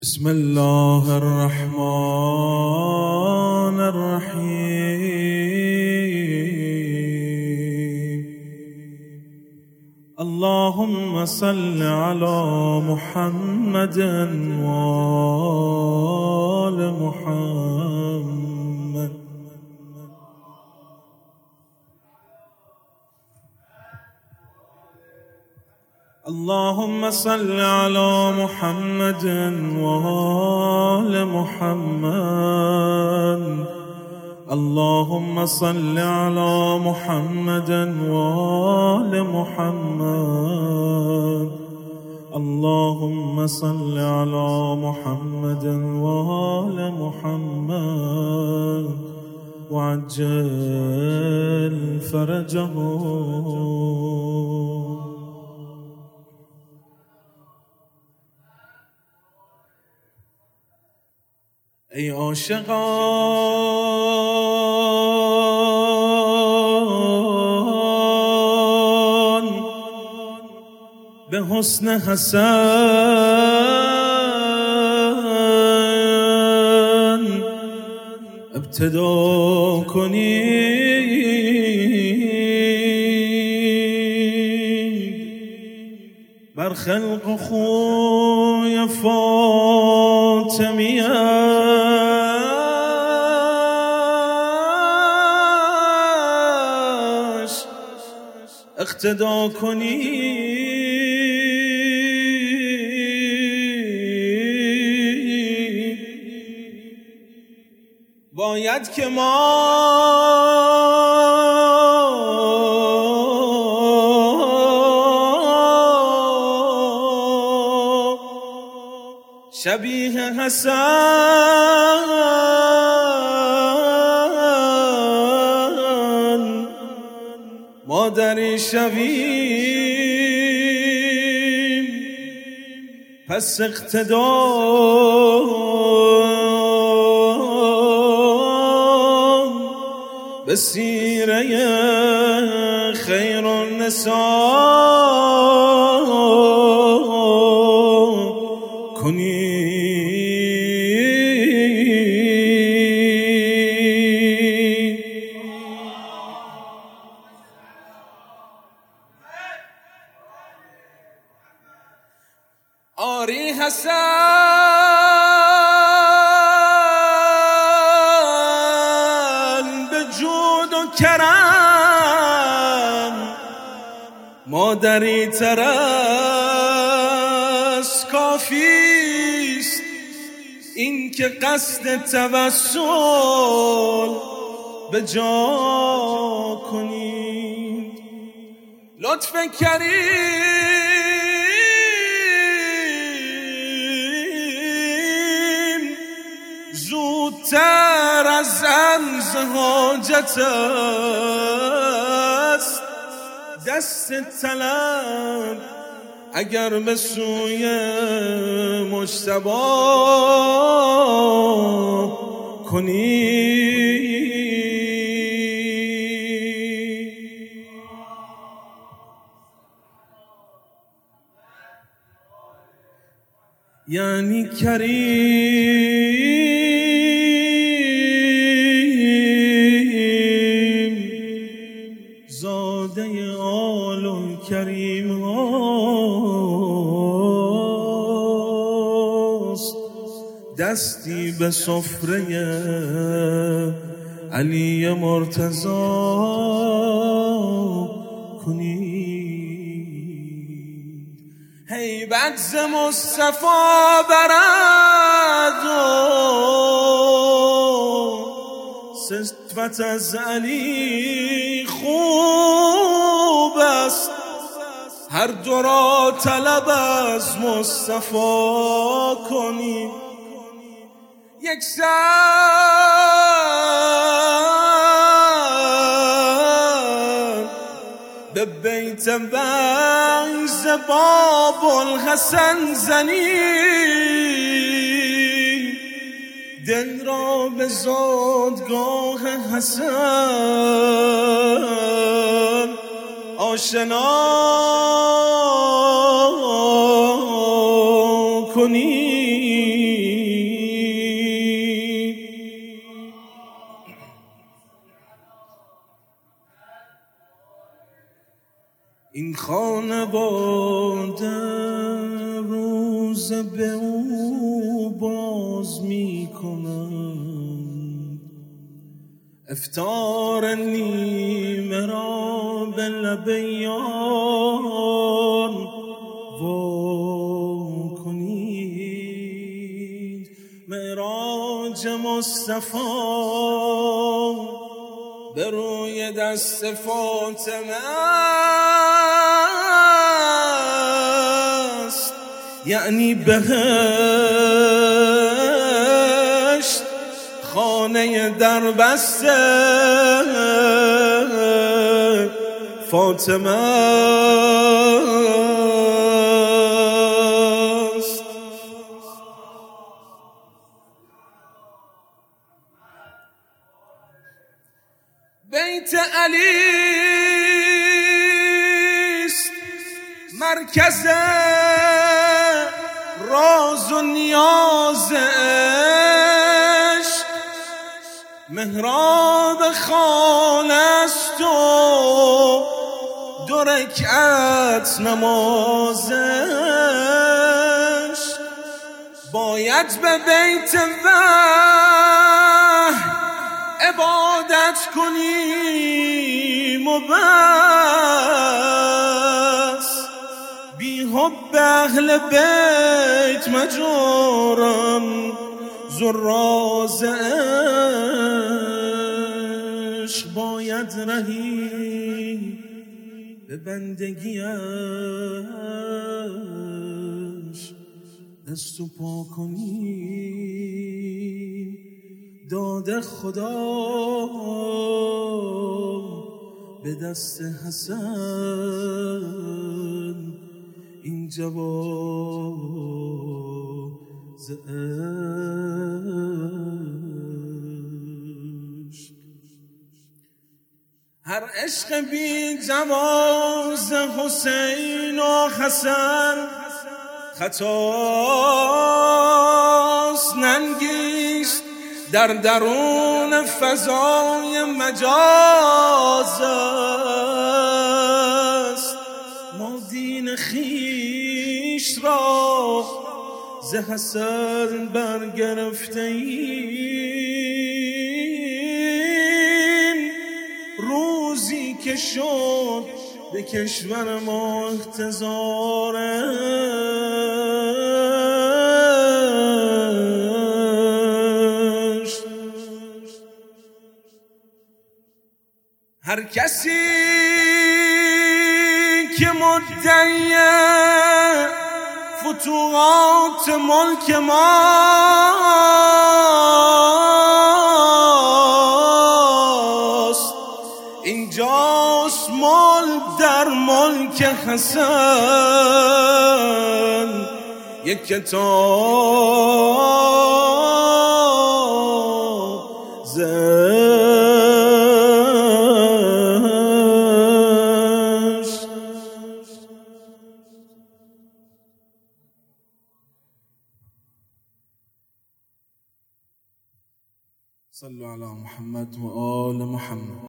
بسم الله الرحمن الرحيم. اللهم صل على محمد وآل محمد. اللهم صل على محمد وآل محمد. اللهم صل على محمد وآل محمد. اللهم صل على محمد وآل محمد وعجل فرجهم. ای عاشقان به حسن حسن ابتدا کنید، بر خلق و خوی فاطمیه اقتدا کنید. باید که ما شبیه حسن مادری شویم، پس اقتدا به سیره خیر النساء کنیم. آری حسن به جود و کرم مادری ترس کافیست، این که قصد توسل به جا کنید. لطف کریم زودتر از عرض حاجت است، دست طلب اگر به سوی مجتبی کنی. یعنی کریم زاده آل و کریم هاست، دستی به سفره علی مرتضی کنید. هیبت ز مصطفی برد و صفت از علی خوب است، هر دو را طلب از مصطفی کنید. یک سر به بیت بعض باب الحسن زنی، دل را به زادگاه حسن آشنا کنی. این خانواده روز به او باز می کنند، افطار نیمه را به لب یار وا کنید. معراج مصطفی به روی دست فاطمه است، یعنی بهشت خانه در بسته فاطمه است. بیت علی است مرکز راز و نیاز عشق، محراب خانه است و 2 رکعت نمازش. باید به بیت وحی عبادت کنیم و بس، بی حب اهل بیت مجورم زراز عشق. باید رهی به بندگیش دست و پا کنیم. داد خدا به دست حسن این جواز عشق. هر عشق بی جواز حسین و حسن خطاست، ننگیست در درون فضای مجاز است. ما دین خویش را ز حسن برگرفته ایم. روزی که شد به کشور ما احتضار، هر کسی که مدعی فتوحات ملک ماست، اینجاست ملک در ملک حسن. یک کتاب صلوا علی محمد و آل محمد.